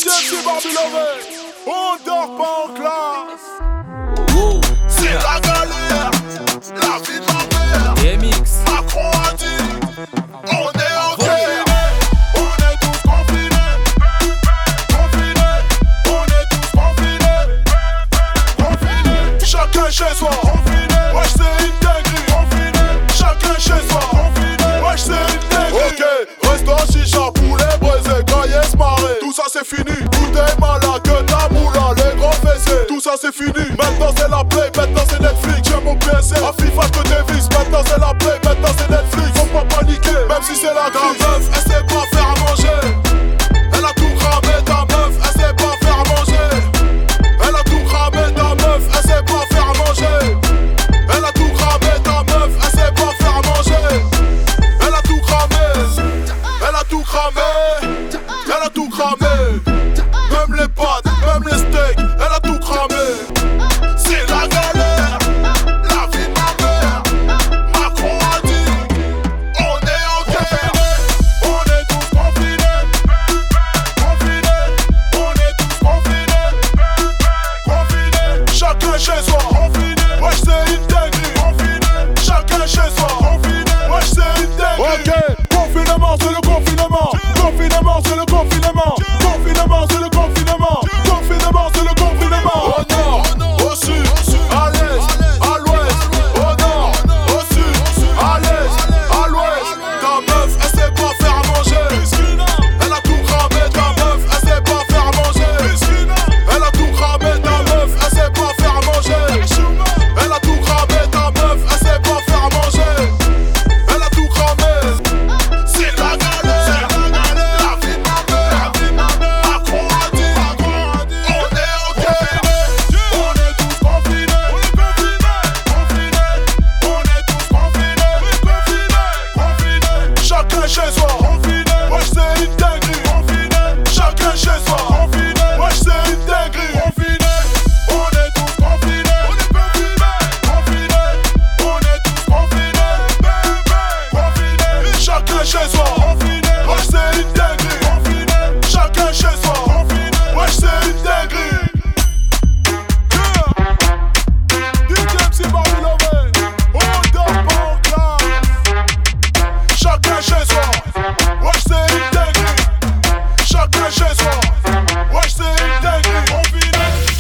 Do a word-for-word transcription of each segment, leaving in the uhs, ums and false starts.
D J M C Babylone, on dort pas en classe. C'est la galère, la vie de ma mère. D M X Macron a dit, on est en guerre. On est tous confinés, confinés. On est tous confinés, confinés. Chacun chez soi, confiné. Wesh c'est une dinguerie, confiné. Chacun chez soi, confiné. Wesh c'est une dinguerie. Ok, restaurant chicha, poulet braisé, caillesse marée. Tout ça c'est fini, bouteille malade, que ta moula, les grands fessés. Tout ça c'est fini, maintenant c'est la play, maintenant c'est Netflix. J'ai mon P S R, à FIFA que des vis. Maintenant c'est la play, maintenant c'est Netflix. Faut pas paniquer, même si c'est la crise. Ta meuf, elle sait pas faire à manger. Elle a tout cramé, ta meuf, elle sait pas faire à manger. Elle a tout cramé, ta meuf, elle sait pas faire à manger. Elle a tout cramé, ta meuf, elle sait pas faire à manger. Elle a tout cramé, elle a tout cramé, elle a tout cramé. Même les pâtes, même les steaks, elle a tout cramé. C'est la galère, la vie de ma mère. Macron a dit, on est en guerre. On est tous confinés, confinés. On est tous confinés, confinés. Chacun chez soi, confiné. Wesh c'est une dinguerie, confiné. Chacun chez soi, confiné. Wesh c'est une dinguerie. Ok, confinement c'est le confinement. Confinement c'est le confinement. Confinement c'est le confinement. Confinement c'est le confinement. Au nord, au sud, à l'est, à l'ouest. Au nord, au sud, à l'est, à l'ouest. Ta meuf elle sait pas faire à manger. Elle a tout cramé, ta meuf elle sait pas faire à manger. Elle a tout cramé, ta meuf elle sait pas faire à manger. Elle a tout cramé, ta meuf elle sait pas faire à manger. Elle a tout cramé. C'est la galère, la vie de ma mère. Macron a dit, on est en guerre. On est tous confinés, confinés. On est tous confinés, confinés. Chacun chez soi, confiné. Wesh c'est une dinguerie, confiné. Chacun chez soi, confiné. Wesh c'est une dinguerie, confiné. On est tous confinés, confinés. On est tous confinés, confinés. Chacun chez soi, confiné. Wesh c'est une dinguerie, confiné. Chacun chez soi, confiné. Wesh c'est une dinguerie. D J M C Babylone, on dort pas en classe. Chacun chez soi, wesh c'est une dinguerie. Chacun chez soi, wesh c'est une dinguerie. Confiné.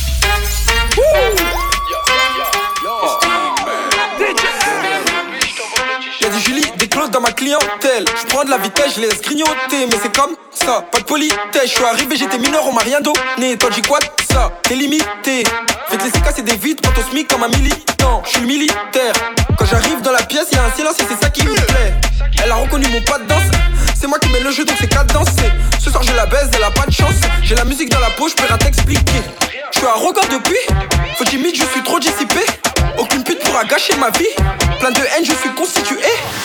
Y'a du Julie, des clauses dans ma clientèle. J'prends de la vitesse, je laisse grignoter. Mais c'est comme ça, pas de politesse. J'suis arrivé, j'étais mineur, on m'a rien donné. Toi, j'y quoi de ça, t'es limité. Fais te laisser casser des vitres, prends ton smic comme un militant. J'suis le militaire. Quand j'arrive dans la pièce, y'a un silence et c'est ça qui me plaît. Elle a reconnu mon pas de danse. C'est moi qui mets le jeu donc c'est cadencé. Ce soir je la baise, elle a pas de chance. J'ai la musique dans la poche, j'peux rien t'expliquer. J'suis arrogant depuis, faut timide, je suis trop dissipé. Aucune pute pourra gâcher ma vie. Plein de haine, je suis constitué.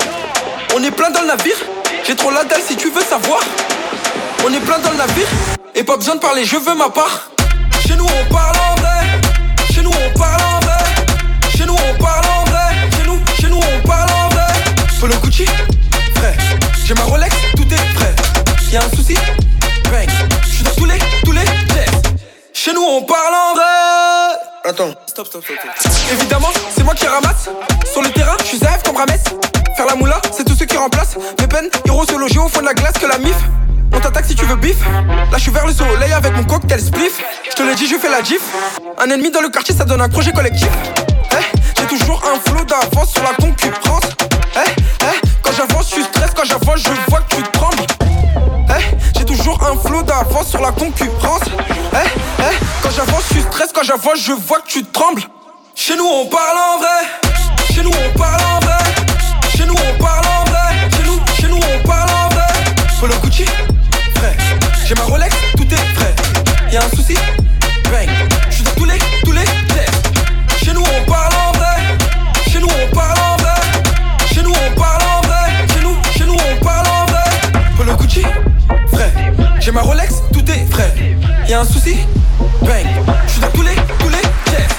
On est plein dans le navire. J'ai trop la dalle si tu veux savoir. On est plein dans le navire. Et pas besoin de parler, je veux ma part. Chez nous on parle en vrai. Chez nous on parle en vrai. Chez nous on parle en vrai. Chez nous, chez nous on parle en vrai. Polo Gucci, vrai. J'ai ma Rolex, tout est prêt. Y'a un souci, bang. J'suis dans tous les, tous les tests. Chez nous on parle en vrai. Attends, stop, stop, stop, stop. Évidemment, c'est moi qui ramasse. Sur le terrain, j'suis zève comme Rames. Faire la moula, c'est tous ceux qui remplacent. Mes peines iront se loger au fond de la glace que la mif. On t'attaque si tu veux bif. Là j'suis vers le soleil avec mon cocktail spliff. J'te l'ai dit, je fais la gif. Un ennemi dans le quartier, ça donne un projet collectif. Eh, j'ai toujours un flow d'avance sur la concurrence. Eh, eh, quand j'avance, j'suis stress. Quand j'avance, je vois que tu trembles. Eh, j'ai toujours un flow d'avance sur la concurrence. Eh, eh, quand j'avance, j'suis stress. Quand j'avance, je vois que tu trembles. Chez nous on parle en vrai. Chez nous on parle en vrai. Chez nous on parle en vrai. Chez nous, chez nous on parle en vrai. Polo Gucci, vrai. J'ai ma Rolex, tout est prêt. Y'a un souci, bang. J'suis dans tous les, tous les tests. Chez nous on parle en vrai. Chez nous on parle en vrai. Chez nous on parle en vrai. Chez nous, chez nous on parle en vrai. Polo Gucci, vrai. J'ai ma Rolex, tout est frais. Y'a un souci, bang. J'suis dans tous les, tous les tests.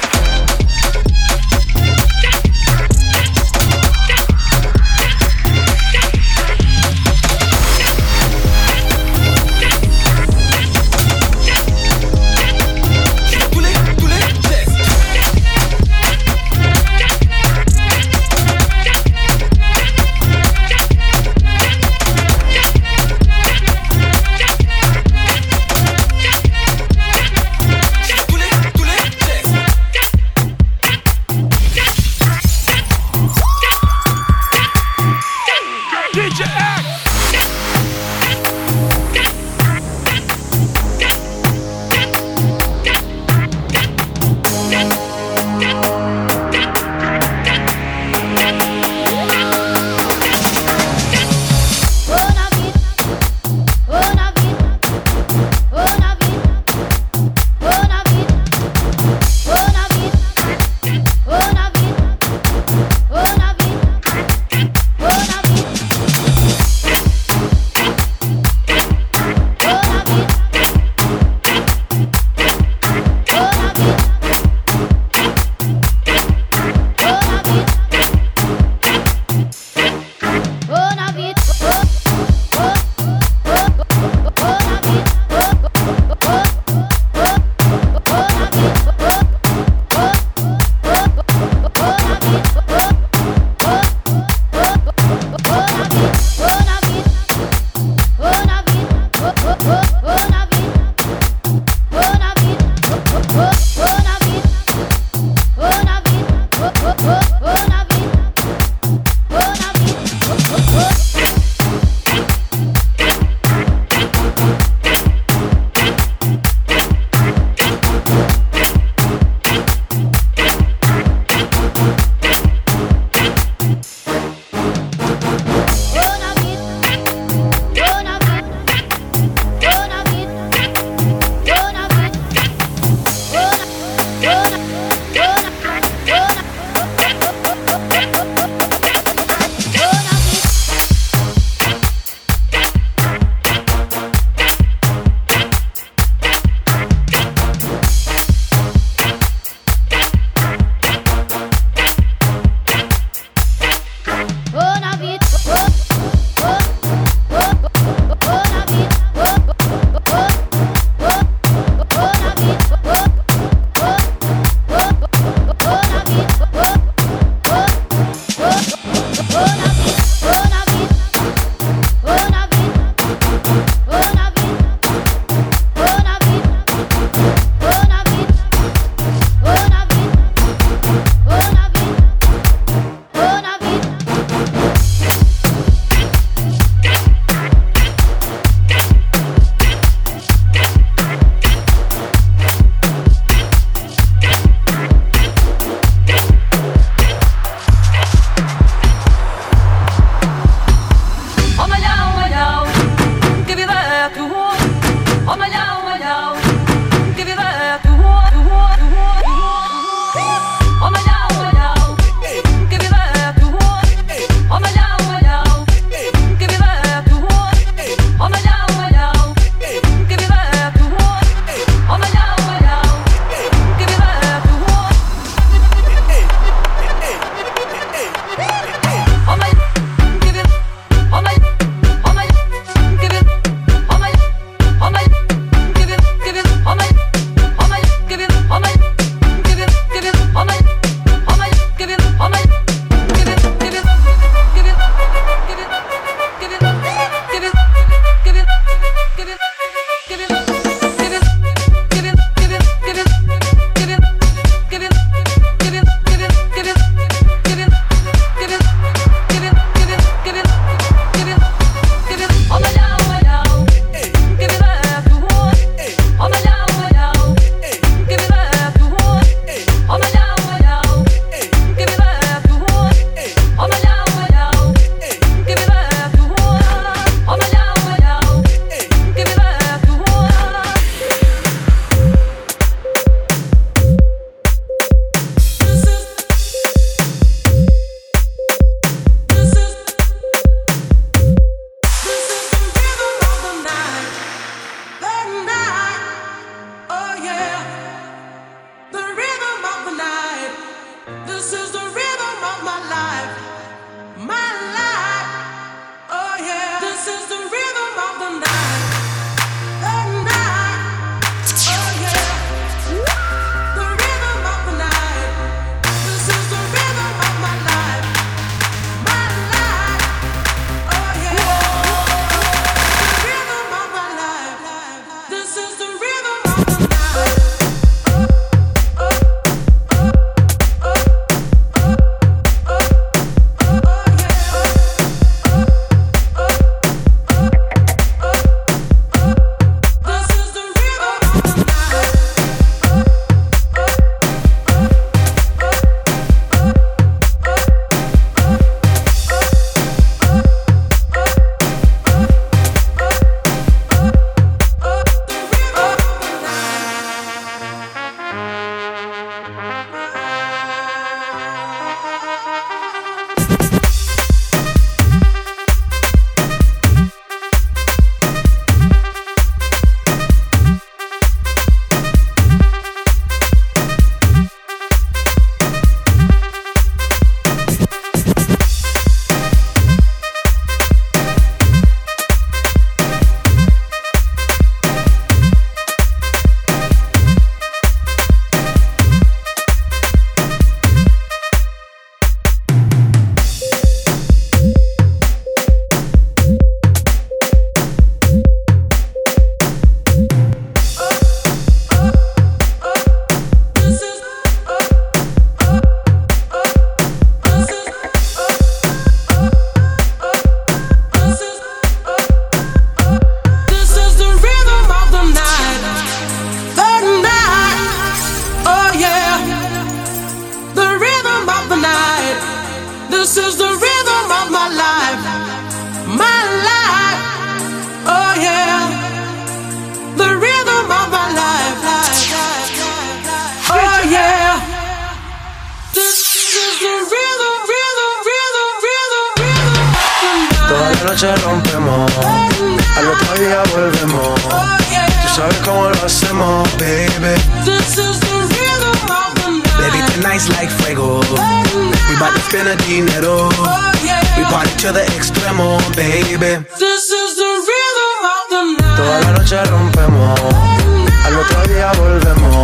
noche rompemos, al otro día volvemos. Tú sabes cómo lo hacemos, baby. This is the rhythm of the night. Baby, tonight's like fuego. We bout to spend the dinero. We party to the extremo, baby. This is the rhythm of the night. Toda la noche rompemos, al otro día volvemos.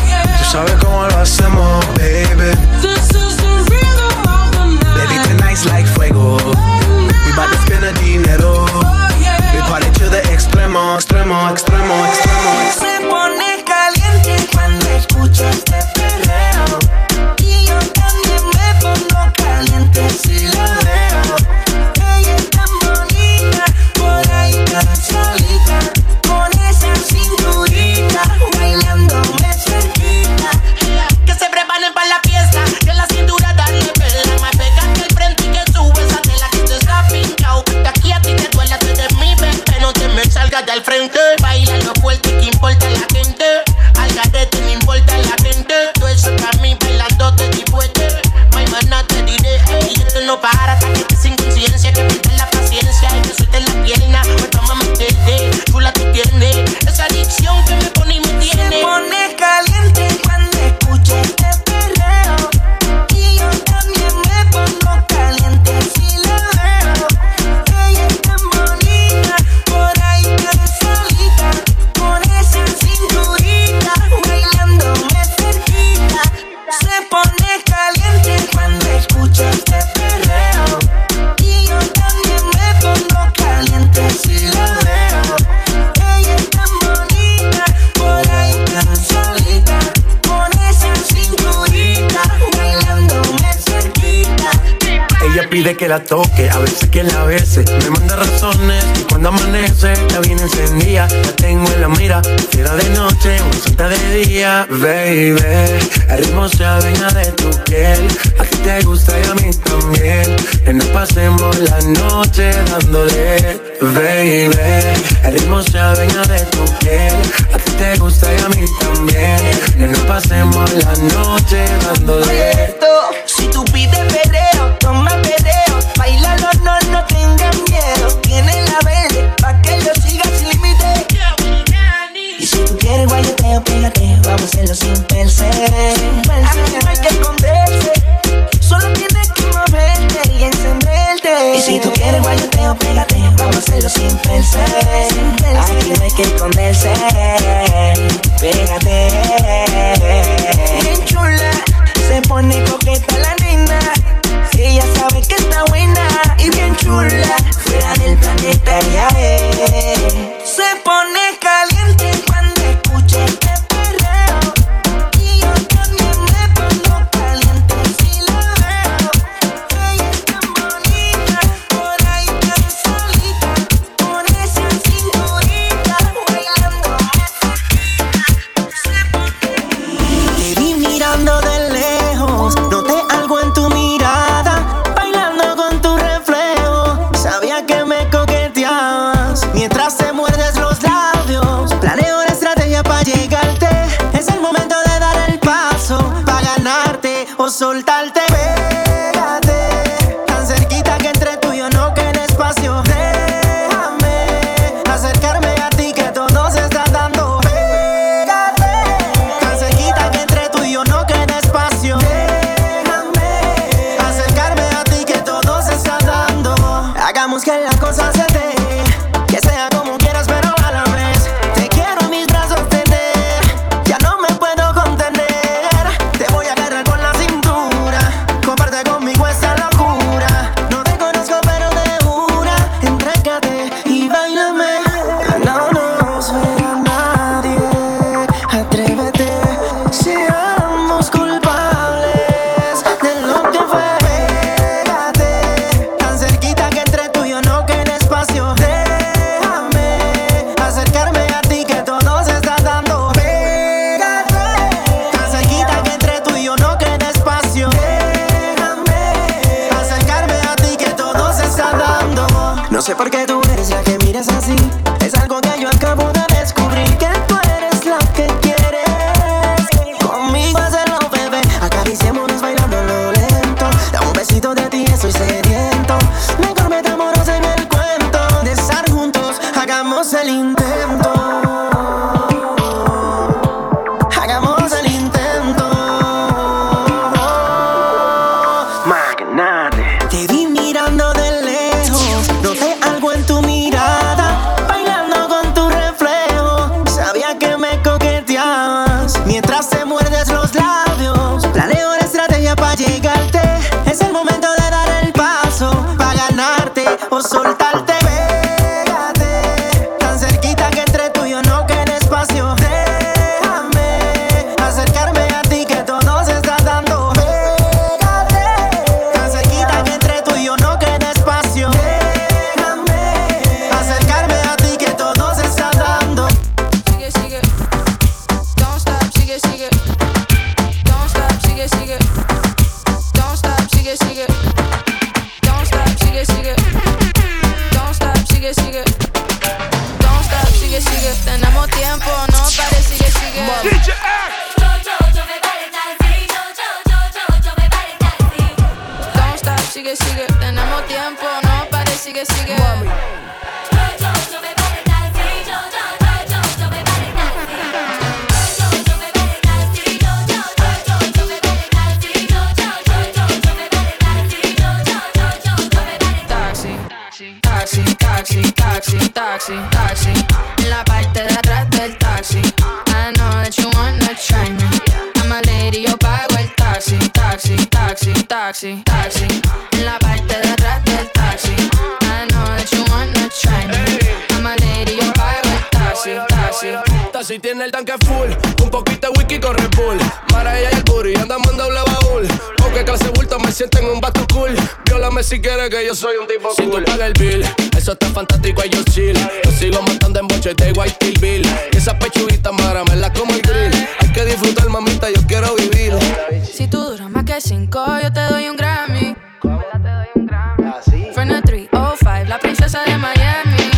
Tú sabes cómo lo hacemos, baby. This is the rhythm of the night. Baby, tonight's like fuego. We bout to spend the dinero. We party to the extremo, extremo, extremo, extremo. Se pone caliente cuando escucho este perreo. Y yo también me pongo caliente si la veo. Ella es tan bonita, por ahí tan solita, con esa cinturita, bailándome cerquita. Que se preparen para la fiesta, que la cintura darle pela. Más pega que el frente y que sube esa tela que te está pintado. De aquí a ti te duela, tú eres mi bebé, no te me salgas del frente. Baila lo fuerte, que importa la gente. Al garete no importa la gente. Tú eso para mí bailando te divuelve. My mana te diré, ey, esto no para hasta que estés sin conciencia. Que pierdas la paciencia y que sueltes la pierna. Pues toma me entiende, chula tú tienes esa adicción que me pone y me tiene. Se pone caliente cuando escucho este perreo. Y yo también me pongo caliente si la veo. Ella es tan bonita, por ahí tan solita, con esa cinturita, bailándome cerquita. Se pone caliente cuando escucho este perreo. Y yo también me pongo caliente si la veo. Ella es tan bonita, por ahí tan solita, con esa cinturita, bailándome cerquita. Ella pide que la toque, a veces que la bese. Me manda razones y cuando amanece ya viene encendida. La tengo en la mira, fiera de noche, una santa de día. Baby, el ritmo se adueña de tu piel. A ti te gusta y a mí también. Que nos pasemos la noche dándole. Baby, el ritmo se adueña de tu piel. A ti te gusta y a mí también. Que nos pasemos la noche dándole. Esto, si tú pides perreo, toma perreo. Bailalo, no, no tengas miedo. Tiene la verde, pa' que lo sigas sin límite. Y si tú quieres guayoteo, pégate. Vamos a hacerlo sin pensar. Aquí no hay que esconderse. Solo tienes que moverte y encenderte. Y si tú quieres guayoteo, pégate. Vamos a hacerlo sin pensar. Aquí no hay que esconderse. Pégate. Bien chula, se pone coqueta la nena. Ella sabe que está buena y bien chula. Fuera del planeta ya es. Se pone caliente cuando escucha este perreo. Y yo también me pongo caliente si la veo. Ella es tan bonita, por ahí tan solita, con esa cinturita, bailándome cerquita. Se pone. Te vi mirando de lejos, noté algo en tu mirada, bailando con tu reflejo. Sabía que me coqueteabas mientras te muerdes los labios. Planeo una estrategia para llegarte. Es el momento de dar el paso, para ganarte o soltarte. Pégate, tan cerquita que entre tú y yo no quede espacio. Déjame acercarme a ti que todo se está dando. Pégate, tan cerquita que entre tú y yo no quede espacio. Déjame acercarme a ti que todo se está dando. Hagamos que la cosa se dé, que sea como quieras pero a la vez. Te quiero en mis brazos tener, ya no me puedo contener. Te voy a agarrar con la cintura, comparte conmigo esa locura. No te conozco pero de una, entrégate y bailame. No nos verá nadie, atrévete. Seamos culpables de lo que fue. Pégate, tan cerquita que entre tú y yo no quede espacio. Déjame acercarme a ti que todo se está dando. Pégate, tan cerquita que entre tú y yo no quede espacio. Déjame acercarme a ti que todo se está dando. No sé por qué tú eres la que miras así. Es algo que yo acabo de descubrir, que tú eres la que quieres. Conmigo hacerlo, bebé. Acariciémonos bailando lo lento. Da un besito de ti, estoy sediento. Mejor metamos en el cuerpo. hagamos el intento. Hagamos el intento. Magnate. Te vi mirando de lejos, noté algo en tu mirada, bailando con tu reflejo. Sabía que me coqueteabas mientras te muerdes los labios. Planeo una estrategia para llegarte. Es el momento de dar el paso para ganarte o soltarte. Pégate, tan cerquita que entre tú y yo no quede espacio. Déjame acercarme a ti que todo se está dando. Pégate, tan cerquita que entre tú y yo no quede espacio. Déjame acercarme a ti que todo se está dando. Sigue, sigue. Don't stop, sigue, sigue. Don't stop, sigue, sigue. Don't stop, sigue, sigue. Don't stop, sigue, sigue. Don't stop, sigue, sigue. Don't stop, sigue, sigue. Tenemos tiempo, no pare, sigue, sigue. D J X. Don't stop, sigue, sigue. Tenemos tiempo, no pare, sigue, sigue. Taxi, taxi, taxi, taxi, taxi, taxi. En la parte de atrás del taxi. I know that you wanna try me. I'm a lady, yo pago el taxi, taxi, taxi, taxi, taxi. En la parte de atrás del taxi. I know that you wanna try me. I'm a lady, yo pago el taxi, taxi. Taxi tiene el tanque full, un poquito de whisky con Red Bull. Mara ella y el booty, andamos en doble baúl. Oh, que clase bulto, me siento en un vato cool. Viólame si quieres que yo soy un tipo si cool. Si tú pagas el bill, eso está fantástico, y yo chill. Yo sigo montando en boches de White Steel Bill. Y esa pechuguita, mara, me la como el grill. Hay que disfrutar, mamita, yo quiero vivir. Si tú duras más que cinco, yo te doy un Grammy. From the three oh five, la princesa de Miami.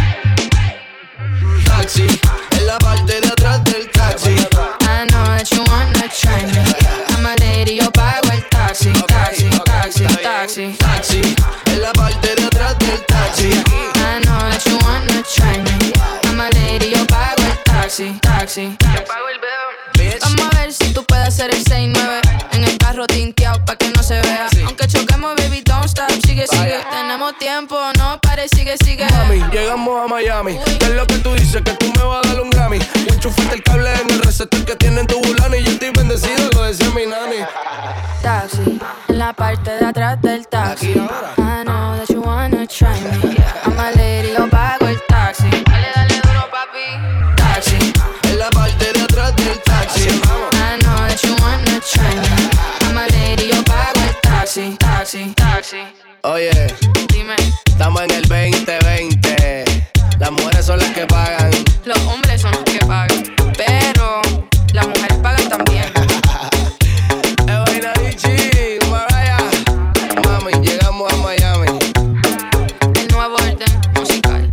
Taxi, en la parte de atrás del taxi. I know that you wanna try me. I'm a lady, yo pago el taxi, taxi, taxi, taxi. Taxi, en la parte de atrás del taxi. I know that you wanna try me. I'm a lady, yo pago el taxi, taxi. Yo pago el bill. Vamos a ver si tú puedes hacer el seis nueve en el carro tinteado pa' que no se vea. Aunque choquemos, baby, don't stop, sigue, sigue. Tenemos tiempo, no pare, sigue, sigue. Mami, llegamos a Miami. ¿Qué es lo que tú dices? Que tú me vas a dar un Grammy. Y enchufaste el cable en el receptor que tiene en tu bulani. Y yo estoy bendecido, lo decía mi nani. Taxi, en la parte de atrás del taxi. I know that you wanna try me. I'm a lady, yo pago el taxi. Dale, dale duro, papi. Taxi, En la parte de atrás del taxi. I know that you wanna try me. I'm a lady, yo pago el taxi, taxi, taxi. Oye, Dime, estamos en el veinte veinte. Las mujeres son las que pagan. los hombres son los que pagan, pero las mujeres pagan también. Es vaina Ichi, Mariah. Mami, llegamos a Miami. El nuevo orden musical.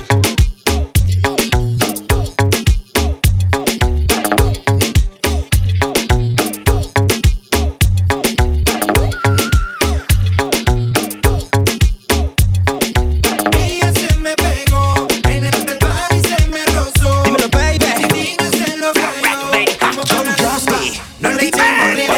Ella se me pegó, en el party se me rozó. Dímelo, baby. Dime se lo creo. Como para Justy, no le echemos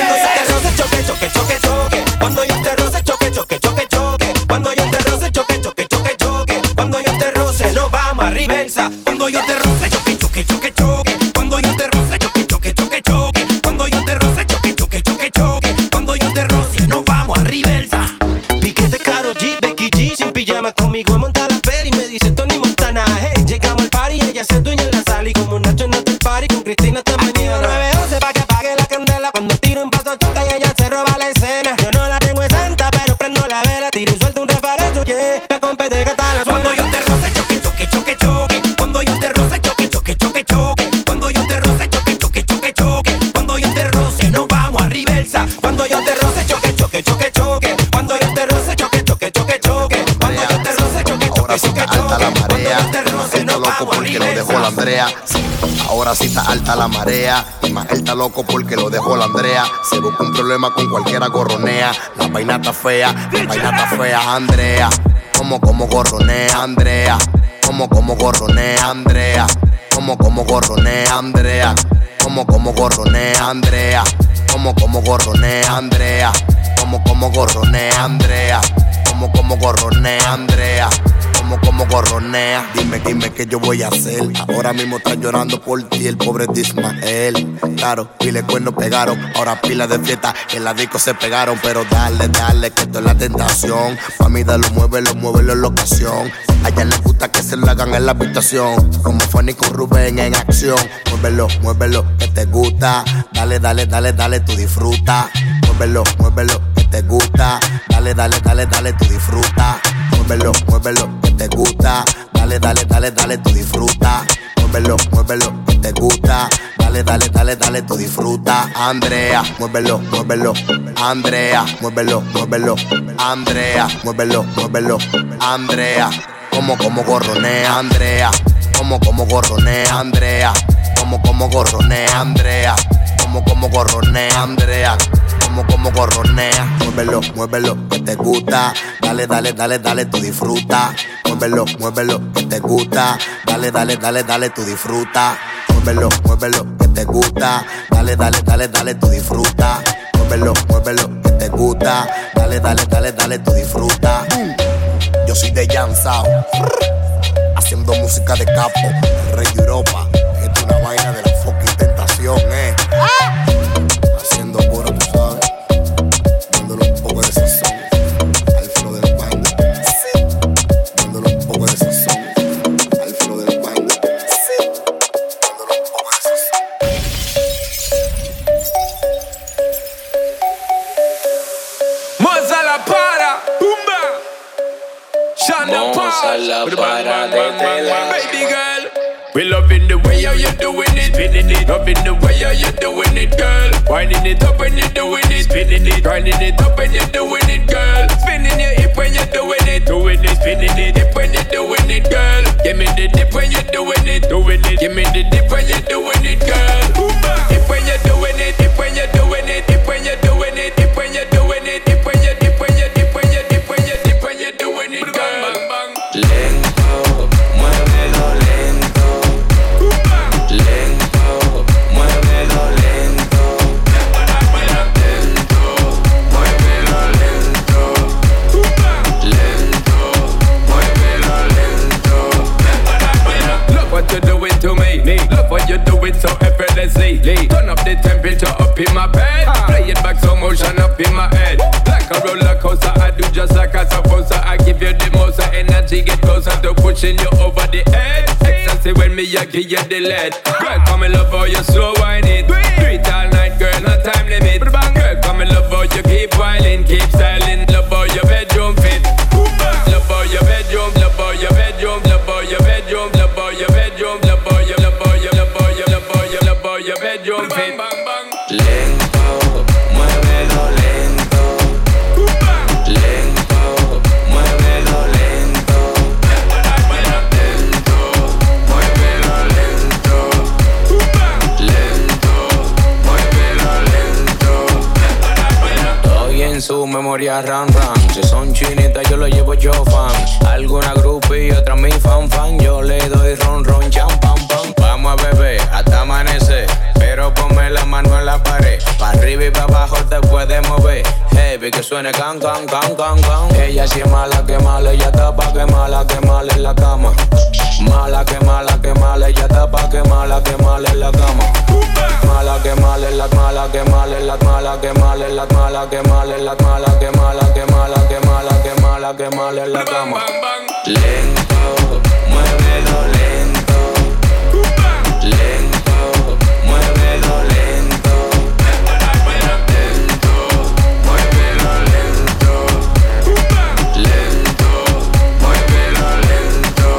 Cuando yo te roce, choque, choque, choque. Cuando yo te roce, choque, choque, choque, choque. Cuando yo te roce, choque, choque, choque, choque. Cuando yo te roce, no vamos a reversa. Cuando yo te roce, choque, choque, choque, choque. Cuando yo te roce, choque, choque, choque, choque. Cuando yo te roce, choque, choque, choque, choque. Cuando yo te roce, no vamos a reversa. Piquete caro, G, Becky G, sin pijama conmigo monta la pera y me dice Tony Montana. Hey, llegamos al party, ella se dueña en la sala y como Nacho en el party con Cristina hasta mañana. nueve once pa' que apague la candela. Cuando tiro un paso choca y ella se roba la escena. Yo no la tengo en santa, pero prendo la vela. Tiro y suelto un refarecho, yeah. La compete que está la suena. Cuando yo te roce, choque, choque, choque, choque. Cuando yo te roce, choque, choque, choque, choque. Cuando yo te roce, choque, choque, choque, choque. Cuando yo te roce, no vamos a reversa. Cuando yo te roce, choque, choque, choque, choque. Cuando yo te roce, choque, choque, choque, choque. Cuando yo te roce, choque, choque, choque, choque. Alta la marea, Cuando yo te roce, no loco vamos a porque lo dejó la reversa. Andrea. Ahora sí está alta la marea. Y más él está loco porque lo dejó la Andrea. Se busca un problema con cualquiera gorronea. La vaina está fea, la vaina está fea, Andrea. Como, como gorronea, Andrea. como como gorronea Andrea, como como gorronea Andrea, como como gorronea Andrea, como como gorronea Andrea, como como gorronea Andrea, como como gorronea Andrea, como como gorronea. Dime, dime qué yo voy a hacer. Ahora mismo está llorando por ti el pobre Dismael. Claro, pile cuernos pegaron, ahora pila de fiesta en la disco se pegaron. Pero dale, dale, que esto es la tentación. Mami, dale, muévelo, muévelo en la ocasión. A ella le gusta que se lo hagan en la habitación, como Fanny con Rubén en acción. Muévelo, muévelo, que te gusta. Dale, dale, dale, dale, tú disfruta. Muévelo, muévelo, que te gusta. Dale, dale, dale, dale, tú disfruta. Muévelo, muévelo, que te gusta. Dale, dale, dale, dale, tú disfruta. Muévelo, muévelo, que te gusta. Dale, dale, dale, dale, tú disfruta. Andrea, muévelo, muévelo. Andrea, muévelo, muévelo. Andrea, muévelo, muévelo. Andrea, como como gorronea Andrea, como como gorronea Andrea, como como gorronea Andrea, como como gorronea Andrea, como como gorronea. Muévelo, muévelo, que te gusta. Dale, dale, dale, dale, tú disfruta. Muévelo, muévelo, que te gusta. Dale, dale, dale, dale, tú disfruta. Muévelo, muévelo, que te gusta. Dale, dale, dale, dale, tú disfruta. Muévelo, muévelo, que te gusta. Dale, dale, dale, dale, tú disfruta. Yo soy de Jan Sao, haciendo música de capo, el rey de Europa. Esto es una vaina de la fucking tentación, eh. Haciendo puro, tú sabes, dándole un poco de sazón al flow del banda. Sí. Dándole un poco de sazón al flow del banda. Sí. Dándole un poco de sazón. Moza la para, tumba. Moza la para de tela. Baby girl, we loving the way how you doing it, spinning it. Loving the way how you doing it, girl. Winding it up when you're doing it, spinning it. Grinding it up when you're doing it, girl. Spinning your hip when you're doing it, doing it, spinning it. Dip when you're doing it, girl. Give me the dip when you're doing it, doing it. Give me the dip when you're doing it, girl. Dip when you're doing it, dip when you're doing it, dip when you're doing it, dip when you're doing it, dip when you dip when you dip when you dip when you dip when you're doing it, girl. Lento, muévelo lento. Lento, muévelo lento. Lento, muévelo lento. Lento, muévelo lento. Look what you're doing to me. me. Look what you're doing so effortlessly. Turn up the temperature up in my bed. Play it back slow motion up in my head. Like a roller coaster, I do just like I'm supposed to. I give you the most energy, get closer to pushing you over the edge. Ecstasy when me, I give you the lead. Girl, come and love how you slow wine it. Do it all night, girl, no time limit. Girl, come and love how you keep whining, keep styling. Love how your bedroom fit. Love how your bedroom, love how your bedroom, love how your bedroom, love how your bedroom, love how your, love how your, love how your, love how your, love how your bedroom fit. Lento, muévelo lento. Lento, muévelo lento. Lento, muévelo lento. Lento, muévelo lento. Estoy en su memoria ram ram. Si son chinitas yo lo llevo yo fan. Alguna groupie y otra mi fan fan. Yo le doy ron ron cham pam pam. Vamos a beber hasta amanecer, pero ponme la mano en la pared. Pa' arriba y pa' abajo te puedes mover. Heavy que suene can can can can can. Ella sí es mala que mala, ella está pa' que mala que mala en la cama. Mala que mala que mala, ella está pa' que mala que mala en la cama. Mala que mala en la mala que mala en la mala que mala en la mala que mala en la mala que mala que mala que mala que mala que mala en la cama. Lento, muévelo lento. Lento, muévelo lento. Lento, muévelo lento. Lento, muévelo lento.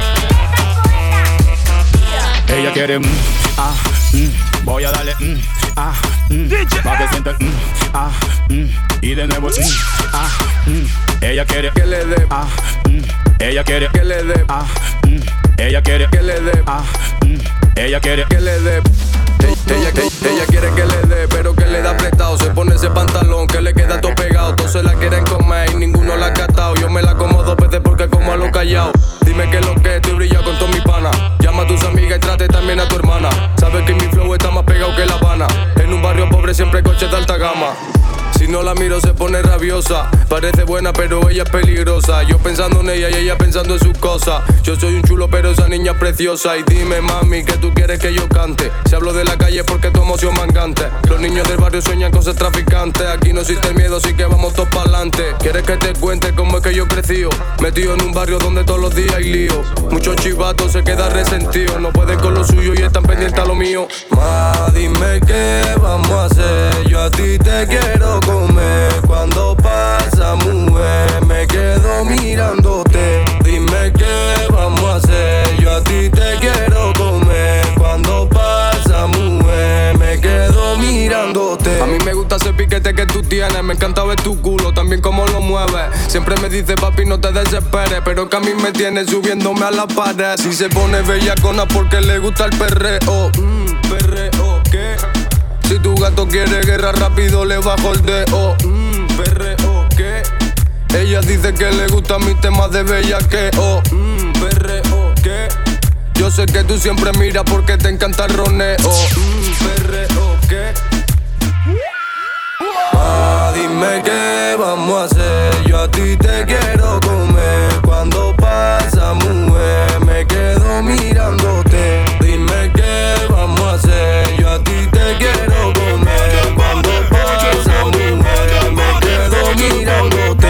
Ella quiere mm, ah, mm, voy a darle mm, ah, mm, pa' que sienta, mm, ah, mm, y de nuevo, mm, ah, mm, ella quiere que le dé, ah, mm, ella quiere que le dé, ah, mm, ella quiere que le dé, ah, mm, ella quiere que le dé. Ella, ella, ella quiere que le dé, pero que le da prestado. Se pone ese pantalón que le queda todo pegado. Todos se la quieren comer y ninguno la ha catado. Yo me la como dos veces porque como a lo callado. Dime que lo que estoy brillado con todos mis panas. Llama a tus amigas y trate también a tu hermana. Sabes que mi flow está más pegado que La Habana. En un barrio pobre siempre hay coches de alta gama. Si no la miro se pone rabiosa. Parece buena pero ella es peligrosa. Yo pensando en ella y ella pensando en sus cosas. Yo soy un chulo pero esa niña es preciosa. Y dime mami que tú quieres que yo cante. Si hablo de la calle porque tu emoción mangante. Los niños del barrio sueñan con ser traficantes. Aquí no existe el miedo así que vamos todos pa'lante. ¿Quieres que te cuente cómo es que yo crecí? Metido en un barrio donde todos los días hay lío. Muchos chivatos se quedan resentidos. No pueden con lo suyo y están pendientes a lo mío. Ma, dime qué vamos a hacer. Yo a ti te quiero comer. Cuando pasa mujer me quedo mirándote. Dime qué vamos a hacer. Yo a ti te quiero comer. Cuando pasa mujer me quedo mirándote. A mí me gusta ese piquete que tú tienes. Me encanta ver tu culo, también cómo lo mueves. Siempre me dice papi no te desesperes, pero que a mí me tiene subiéndome a la pared. Si se pone bellacona porque le gusta el perreo. Mmm, perreo, ¿qué? Si tu gato quiere guerra rápido le bajo el dedo. Mmm, perreo, ¿qué? Ella dice que le gustan mis temas de bellaqueo. Mmm, perreo, ¿qué? Yo sé que tú siempre miras porque te encanta el roneo. Mmm, perreo, ¿qué? Ah, dime qué vamos a hacer. Yo a ti te quiero comer. Cuando pasa mujer me quedo mirándote. Dime qué vamos a hacer. Yo a ti te quiero comer. Cuando pasa mujer me quedo mirándote.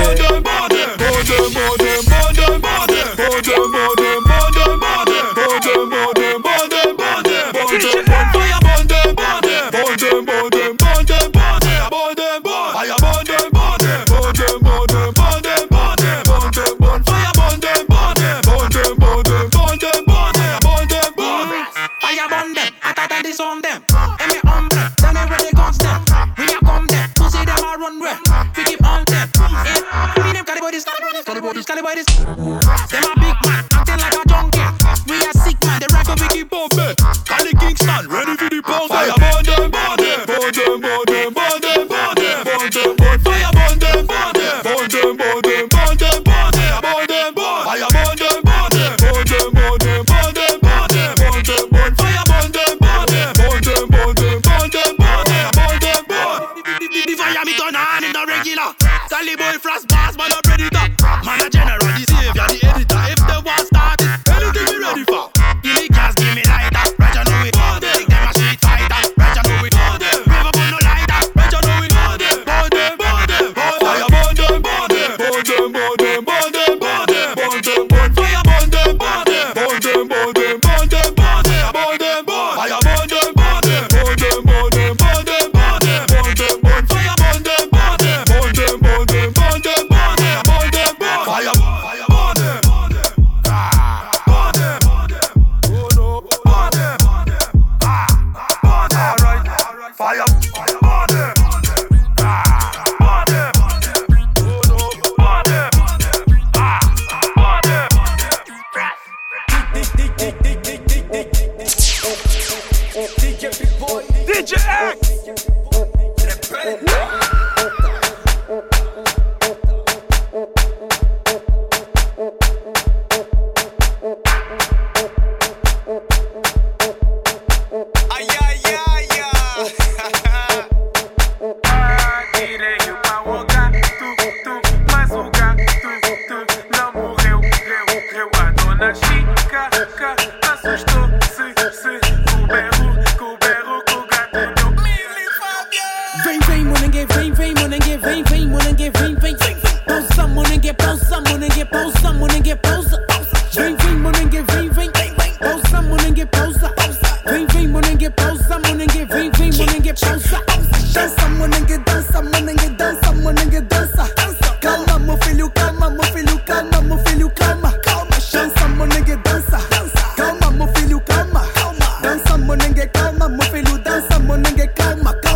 Calma,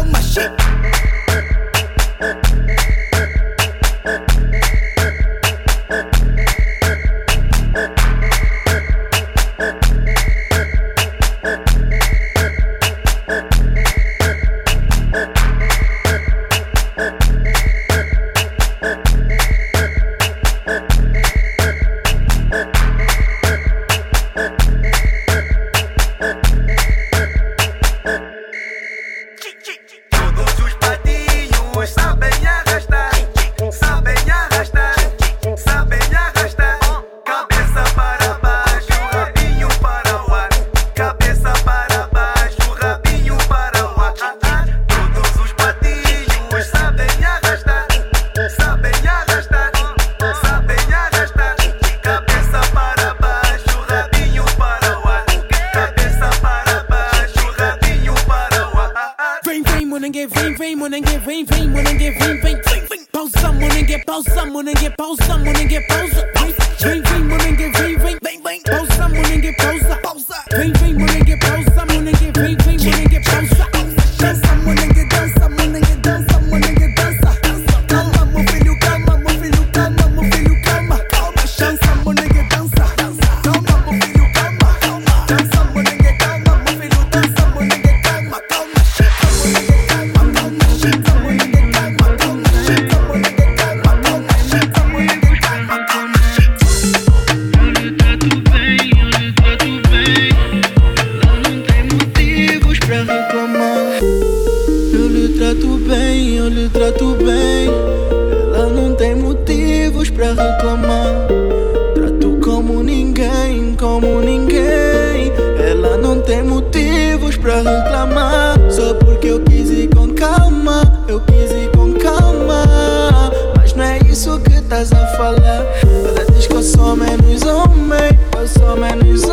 pra reclamar. Só porque eu quis ir com calma, eu quis ir com calma. Mas não é isso que estás a falar. Ela diz que eu sou menos homem, eu sou menos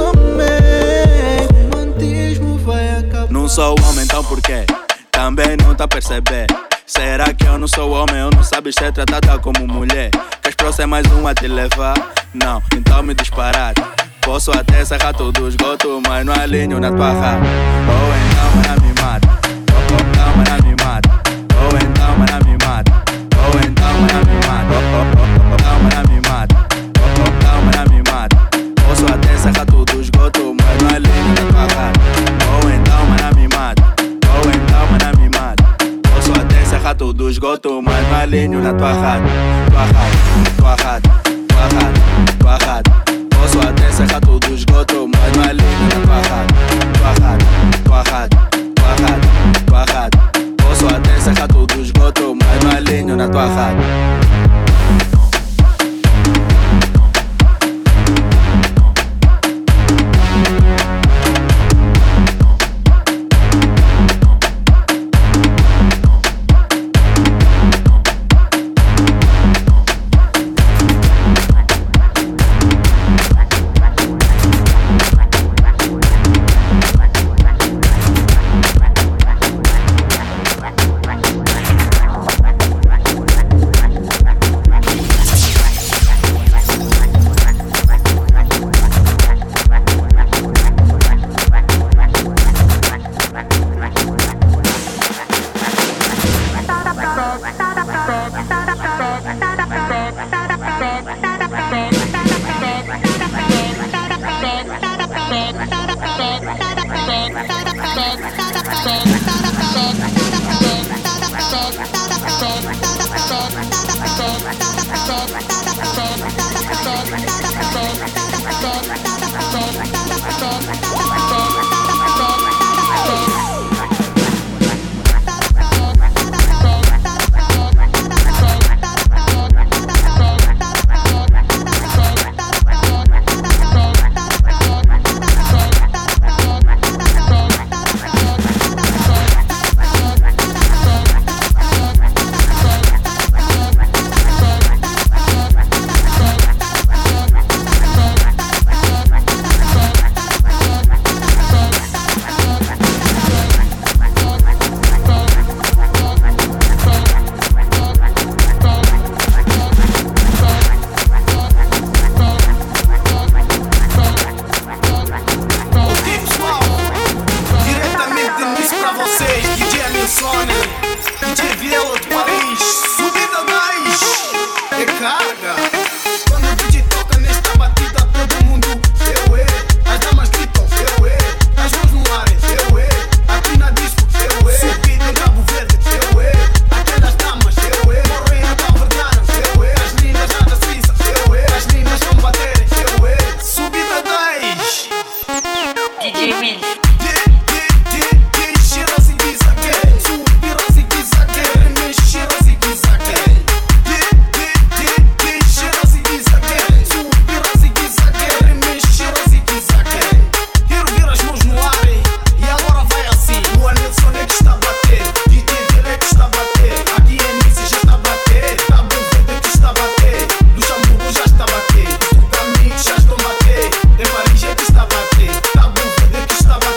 homem. O romantismo vai acabar. Não sou homem, então porquê? Também não tá a perceber. Será que eu não sou homem, eu não sabes ser tratada como mulher? Queres pra ser mais um a te levar? Não, então me disparar. Posso até serrar todo o esgoto, mas não alinho na tua rata. Ou então mana me mata, ou então mana me mata, ou então mana me mata, ou então mana me mata, ou então mana me mata, ou então mana me mata. Posso até serrar todo o esgoto, mas não alinho na tua rata. Ou então mana me mata, ou então mana me mata. Posso até serrar todo o esgoto, mas não alinho na tua rata. Tua rata, tua rata, tua rata, tua rata. Posso até serrar todo o esgoto, mas não alinho na tua rata. Tua rata, tua rata, tua rata, tua rata. Posso até serrar todo o esgoto, mas não alinho na tua rata. Em Paris já te está a bater. Tá bom, ver que está a bater.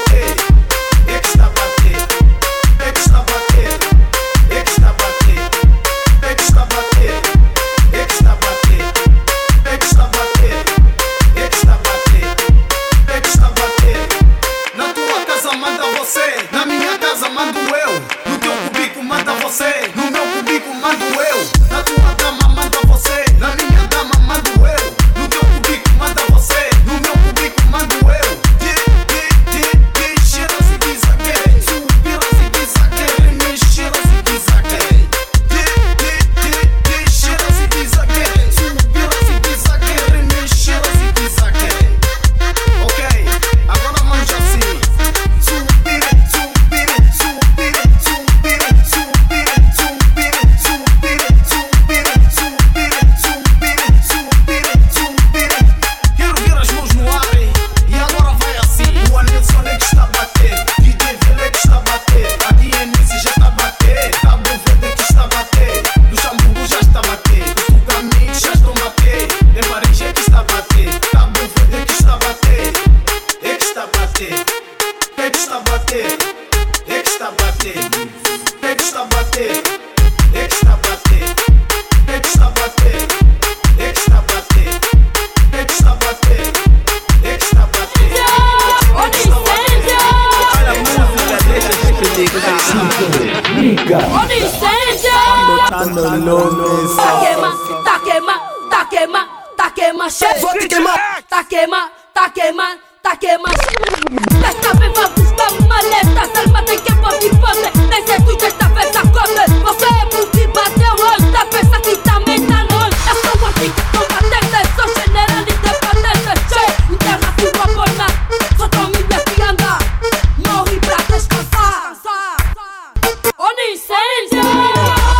bater? Quem que está a bater? Quem que está a bater? Quem que está a bater? Quem que está a bater? Quem que está a bater? Quem que está a bater? Quem que está a bater? Quem que está a bater? Olha a música, deixa esse perigo. Botando nome. Tá queima, tá queima, tá queima, tá queima, chefe. Vou te queimar. Tá queima, tá queima, tá queima. Esta vez vai buscar maleta, Salma tem que pôr de pobre. Nem sei tu desta vez a cobre. Você é porque bateu hoje, tá pensa que também tá longe. Eu sou uma fica combatente, sou general independente. Che, interna sua forma, só tô me defiando. Morri pra descansar. Olha incêndio.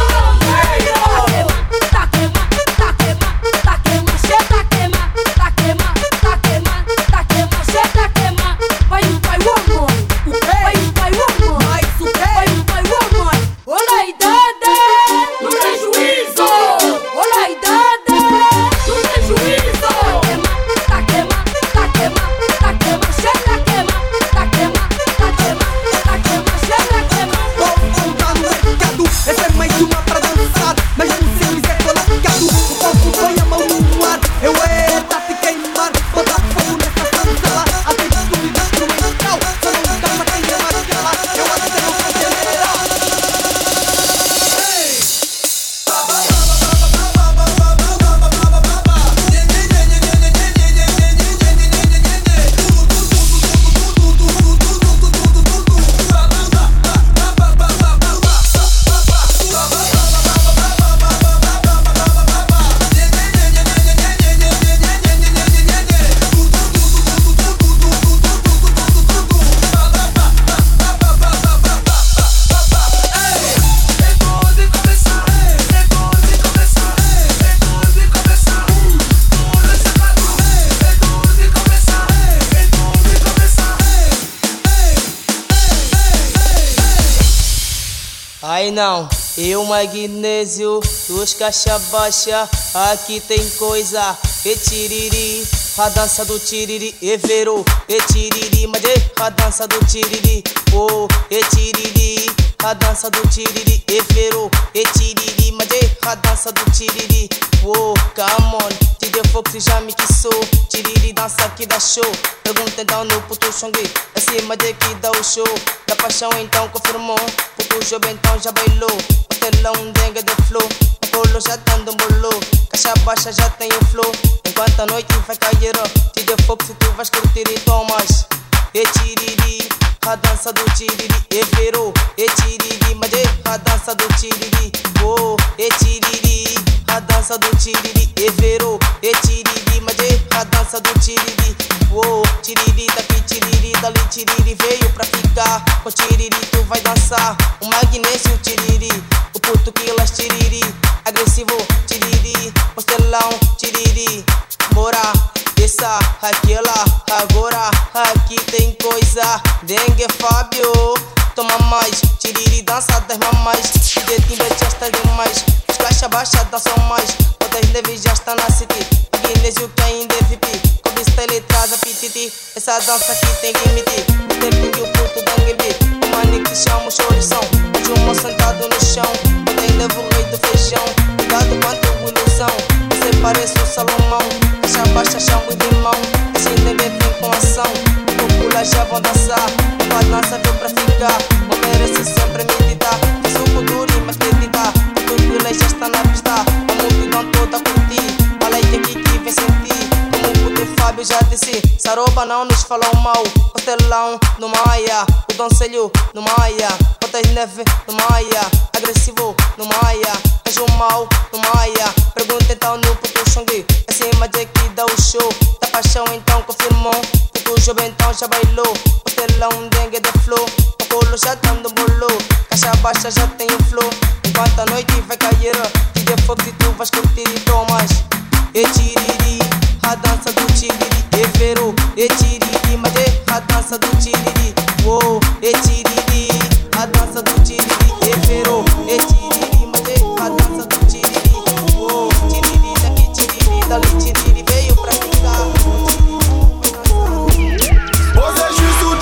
Aí não, eu magnésio, dos caixa baixa, aqui tem coisa, e tiriri, a dança do tiriri, e verou, e tiriri, mas é a dança do tiriri, oh, e tiriri, a dança do tiriri, e verou, e tiriri, mas é a dança do tiriri, oh, come on, te deu fogo se já me quissou, tiriri dança que dá show, pergunta então no puto xongui, é cima de que dá o show, da paixão então confirmou, puto jovem então já bailou, o telão dengue de flow, o colo já dando um bolo, caixa baixa já tem o flow, enquanto a noite vai cair, te deu fogo se tu vais curtir e tomas, e tiriri, a dança do tiriri, e virou, e tiriri, mas é a dança do tiriri, oh, e tiriri, a dança do tiriri, e virou, e tiriri, mas é a dança do tiriri, oh, tiriri, daqui tiriri, dali tiriri, veio pra ficar, com tiriri tu vai dançar, o magnésio tiriri, o puto quilas tiriri, agressivo tiriri, postelão tiriri, bora, essa, aquela, agora, aqui tem coisa, dengue Fábio, toma mais, tiriri dança das mamães, dedinho já está demais, os caixa baixa dançam mais, todas leves já está na city, magnésio que ainda é V I P, cobre style traz a pititi, essa dança aqui tem limite, o tempinho e o puto dengue beat, o mani que chama o chorição, o Juma sentado no chão, eu ainda vou rei do feijão, cuidado quanto ilusão, você parece o Salomão, caixa baixa chama o limão, assim dengue vem com ação, popula já vão dançar, a balança veio pra ficar, não merece sempre meditar, suco duro e mais acreditar, tudo já está na pista, a multidão toda a curtir, a lei que aqui vem sentir, como o puto Fábio já disse, Saroba não nos falou mal, o telão no Maia, o Doncelho no Maia, botas neve no Maia, agressivo no Maia, anjo mal no Maia, pergunta então no puto Xongui, é cima de que dá o show, da paixão então confirmou, puto jovem então já bailou, o telão dengue de flow, o colo já dando bolo, caixa baixa já tem o flow, enquanto a noite vai cair, te dê fogo se tu vais curtir e tomas, e tiriri, a dança do tiriri, e verou, e tiriri, mas é a dança do tiriri, oh, e tiriri, a dança do tiriri, e verou, e tiriri, mas é a dança do tiriri, oh, tiriri, daqui tiriri, dali tiriri, veio pra ficar. Você é justo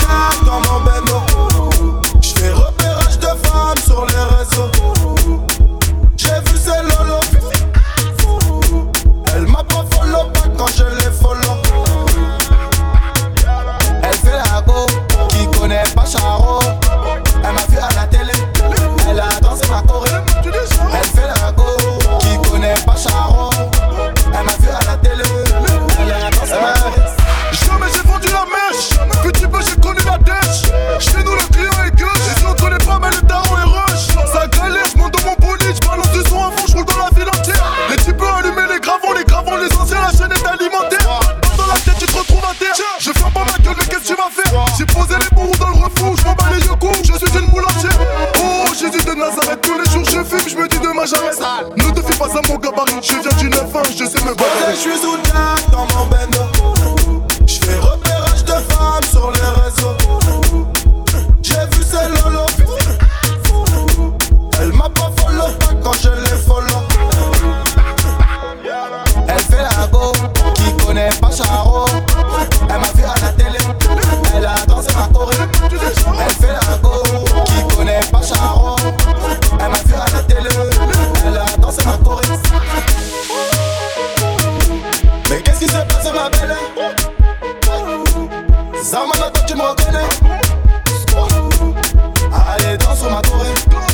Allez, danse sur ma torée.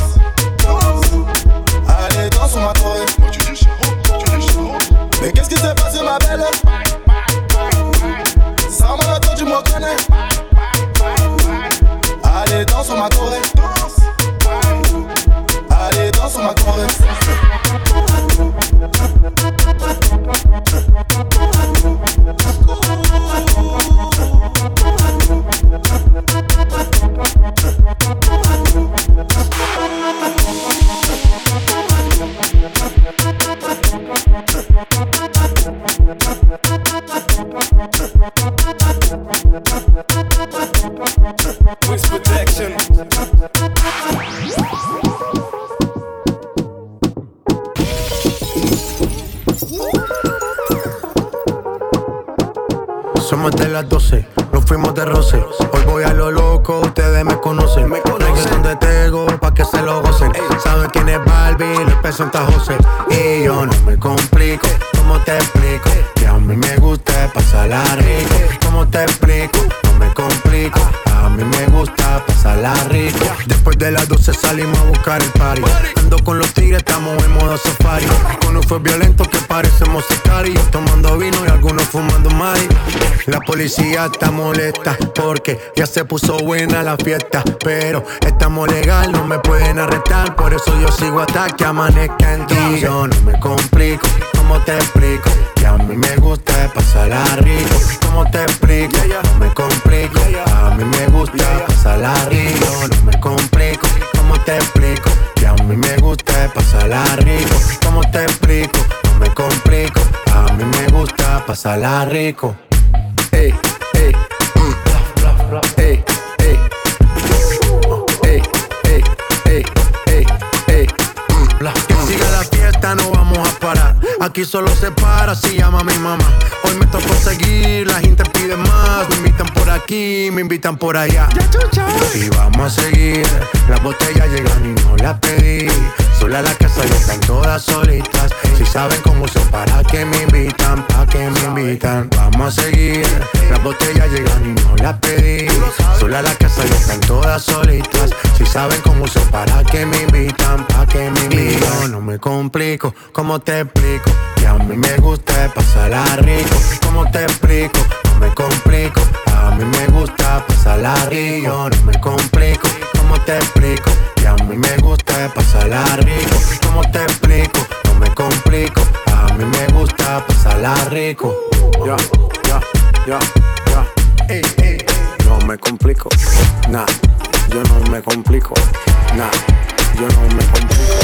Allez, danse sur ma torée. Mais qu'est-ce qui s'est passé, ma belle? Ça m'a attendu, tu me reconnais. Allez, danse sur ma torée. Allez, danse sur ma torée. Wings protection. Somos de las doce, nos fuimos de roce. Hoy voy a lo loco, ustedes me conocen. Reggaeton de Tego, pa' que se lo gocen. Saben quién es Barbie, les presenta José. Y yo no me complico, ¿cómo te explico? Que a mí me gusta pasarla rico. ¿Cómo te explico? No me complico, a mí me gusta pasarla rico. Después de las doce salimos a buscar el party. Ando con los tigres, estamos en modo safari. Con un fue violento que parecemos sicarios. Tomando vino y algunos fumando mari. La policía está molesta porque ya se puso buena la fiesta. Pero estamos legal, no me pueden arrestar. Por eso yo sigo hasta que amanezca en ti. Yo no me complico, ¿cómo te explico? Que a mí me gusta pasarla rico. ¿Cómo te explico? No me complico, a mí me gusta pasarla rico. No me complico, ¿cómo te explico? Que a mí me gusta pasarla rico. ¿Cómo te explico? No me complico, a mí me gusta pasarla rico. Ey, ey, mm, ey, ey, ey, ey, ey, ey, ey, mm. Que siga la fiesta, no vamos a parar. Aquí solo se para si llama mi mamá. Hoy me tocó seguir, la gente pide más. Me invitan por aquí, me invitan por allá. Y vamos a seguir, las botellas llegan y no las pedí. Sola la casa ya están todas solitas. Si saben cómo son, para que me invitan, pa' que me invitan. Vamos a seguir, las botellas llegan y no las pedí. Sola la casa ya están todas solitas. Si saben cómo son, para que me invitan, pa' que me invitan. No me complico, ¿cómo te explico? Que a mí me gusta pasarla rico. ¿Cómo te explico? No me complico, a mí me gusta pasarla rico. No me complico, ¿cómo te explico? Que a mí me gusta pasarla rico. ¿Cómo te explico? No me complico, a mí me gusta pasarla rico. Ya, ya, ya, ya. Ey, ey. No me complico, nah. Yo no me complico, nah. Yo no me complico.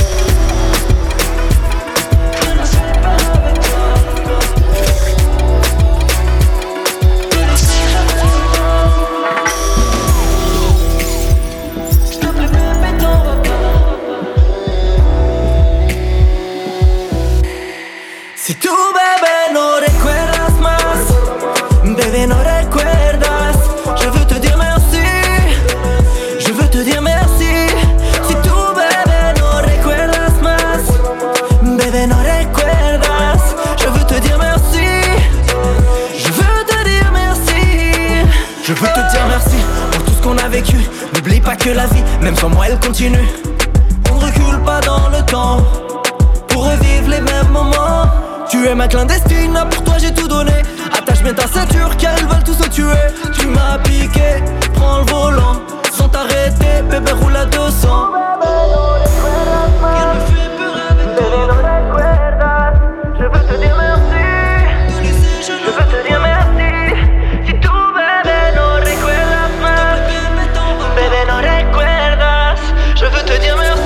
Si tú, bebé, no recuerdas más, bebé, no recuerdas, je veux te dire merci, je veux te dire merci. Si tú, bebé, no recuerdas más, bebé, no recuerdas, je veux te dire merci, je veux te dire merci. Je veux te dire merci pour tout ce qu'on a vécu. N'oublie pas que la vie, même sans moi, elle continue. On ne recule pas dans le temps pour revivre les mêmes moments. Tu es ma clandestine, pour toi j'ai tout donné. Attache bien ta ceinture car ils veulent tous se tuer. Tu m'as piqué, prends le volant sans t'arrêter, bébé roule à deux cents. Il me fait peur avec toi. Je veux te dire merci, je veux te dire merci. Si tu bébé no recuerdas más, bébé no recuerdas, je veux te dire merci.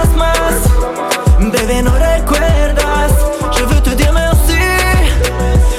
Bebé, no recuerdas, je veux te dire merci,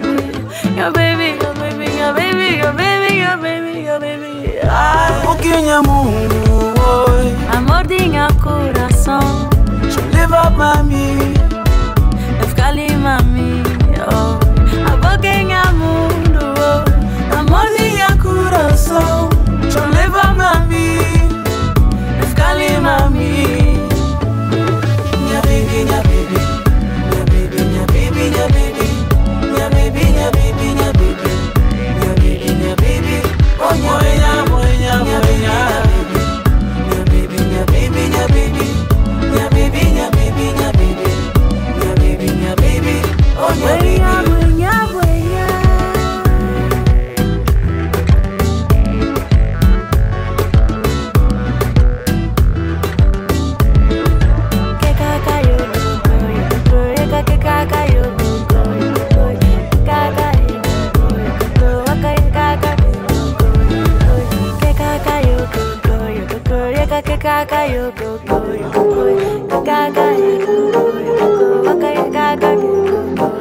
your baby, your baby, your baby, your baby, your baby, your baby. Ai, pouquinho mundo, oi. Amor tinha coração. Je leva mami. Eu ficar ali, mami. Oh, a pouquinho mundo, oi. Amor tinha coração. Je leva mami. Eu ficar ali, mami. Minha baby, minha baby. Minha baby, minha baby, minha baby. Minha baby, minha baby, minha baby. Minha baby, minha baby. Oh, minha moinha, moinha, moinha. Minha baby, minha baby, minha baby. Minha baby, minha baby, minha baby. Minha baby, minha baby. Oh, minha baby. Moinha, moinha. Que caca eu go, eu go, que caca eu go, eu go, caca eu go, que caca eu go, que caca eu go, eu go, que caca eu go, eu go, que caca eu go, que caca eu go.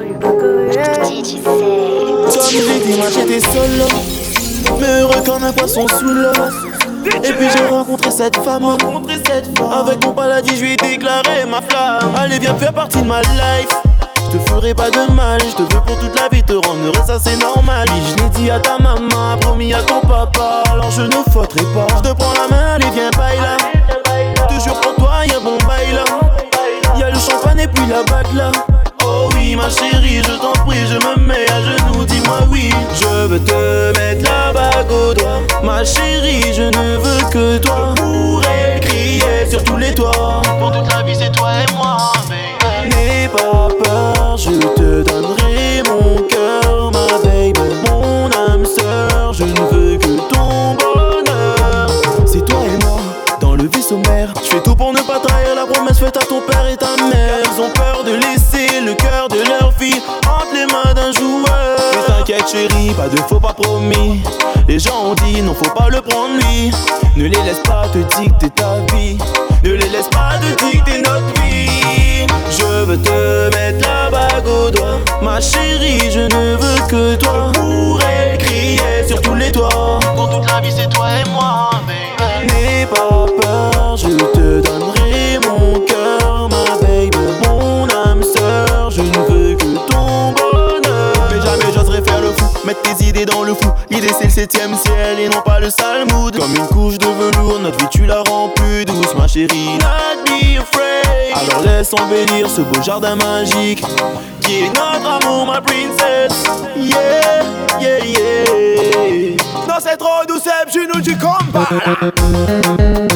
Comme j'ai dit, moi j'étais solo, mais heureux comme un poisson sous l'eau. Et puis j'ai rencontré cette femme, avec mon paladin je lui ai déclaré ma flamme. Allez viens faire partie de ma life, je te ferai pas de mal, je te veux pour toute la vie, te rendre heureux ça c'est normal. Et je l'ai dit à ta maman, promis à ton papa, alors je ne faudrai pas. Je te prends la main, allez viens baille là, te jure pour toi y'a bon bail là. Y'a le champagne et puis la bague là. Oh oui ma chérie, je t'en prie, je me mets à genoux, dis-moi oui. Je veux te mettre la bague au doigt, ma chérie, je ne veux que toi. Je pourrais crier sur tous les toits, pour toute la vie c'est toi et moi, baby. N'aie pas peur, je te donnerai mon cœur, ma baby. Mon âme promesses faites à ton père et ta mère. Ils ont peur de laisser le cœur de leur fille entre les mains d'un joueur. Mais t'inquiète chérie, pas de faux pas promis. Les gens ont dit non, faut pas le prendre lui. Ne les laisse pas te dicter ta vie. Ne les laisse pas te dicter notre vie. Je veux te mettre la bague au doigt. Ma chérie, je ne veux que toi. Je pourrais crier sur tous les toits. Pour toute la vie c'est toi et moi, baby. N'aie pas peur, je te donnerai mon cœur, ma baby. Mon âme sœur, je ne veux que ton bonheur. Mais jamais j'oserais faire le fou, mettre tes idées dans le flou. L'idée c'est le septième ciel et non pas le sale mood. Comme une couche de velours, notre vie tu la rends plus douce, ma chérie. Not be afraid. Alors laisse embellir ce beau jardin magique qui est notre amour, ma princess. Yeah, yeah, yeah. Non c'est trop douce, je nous du combat.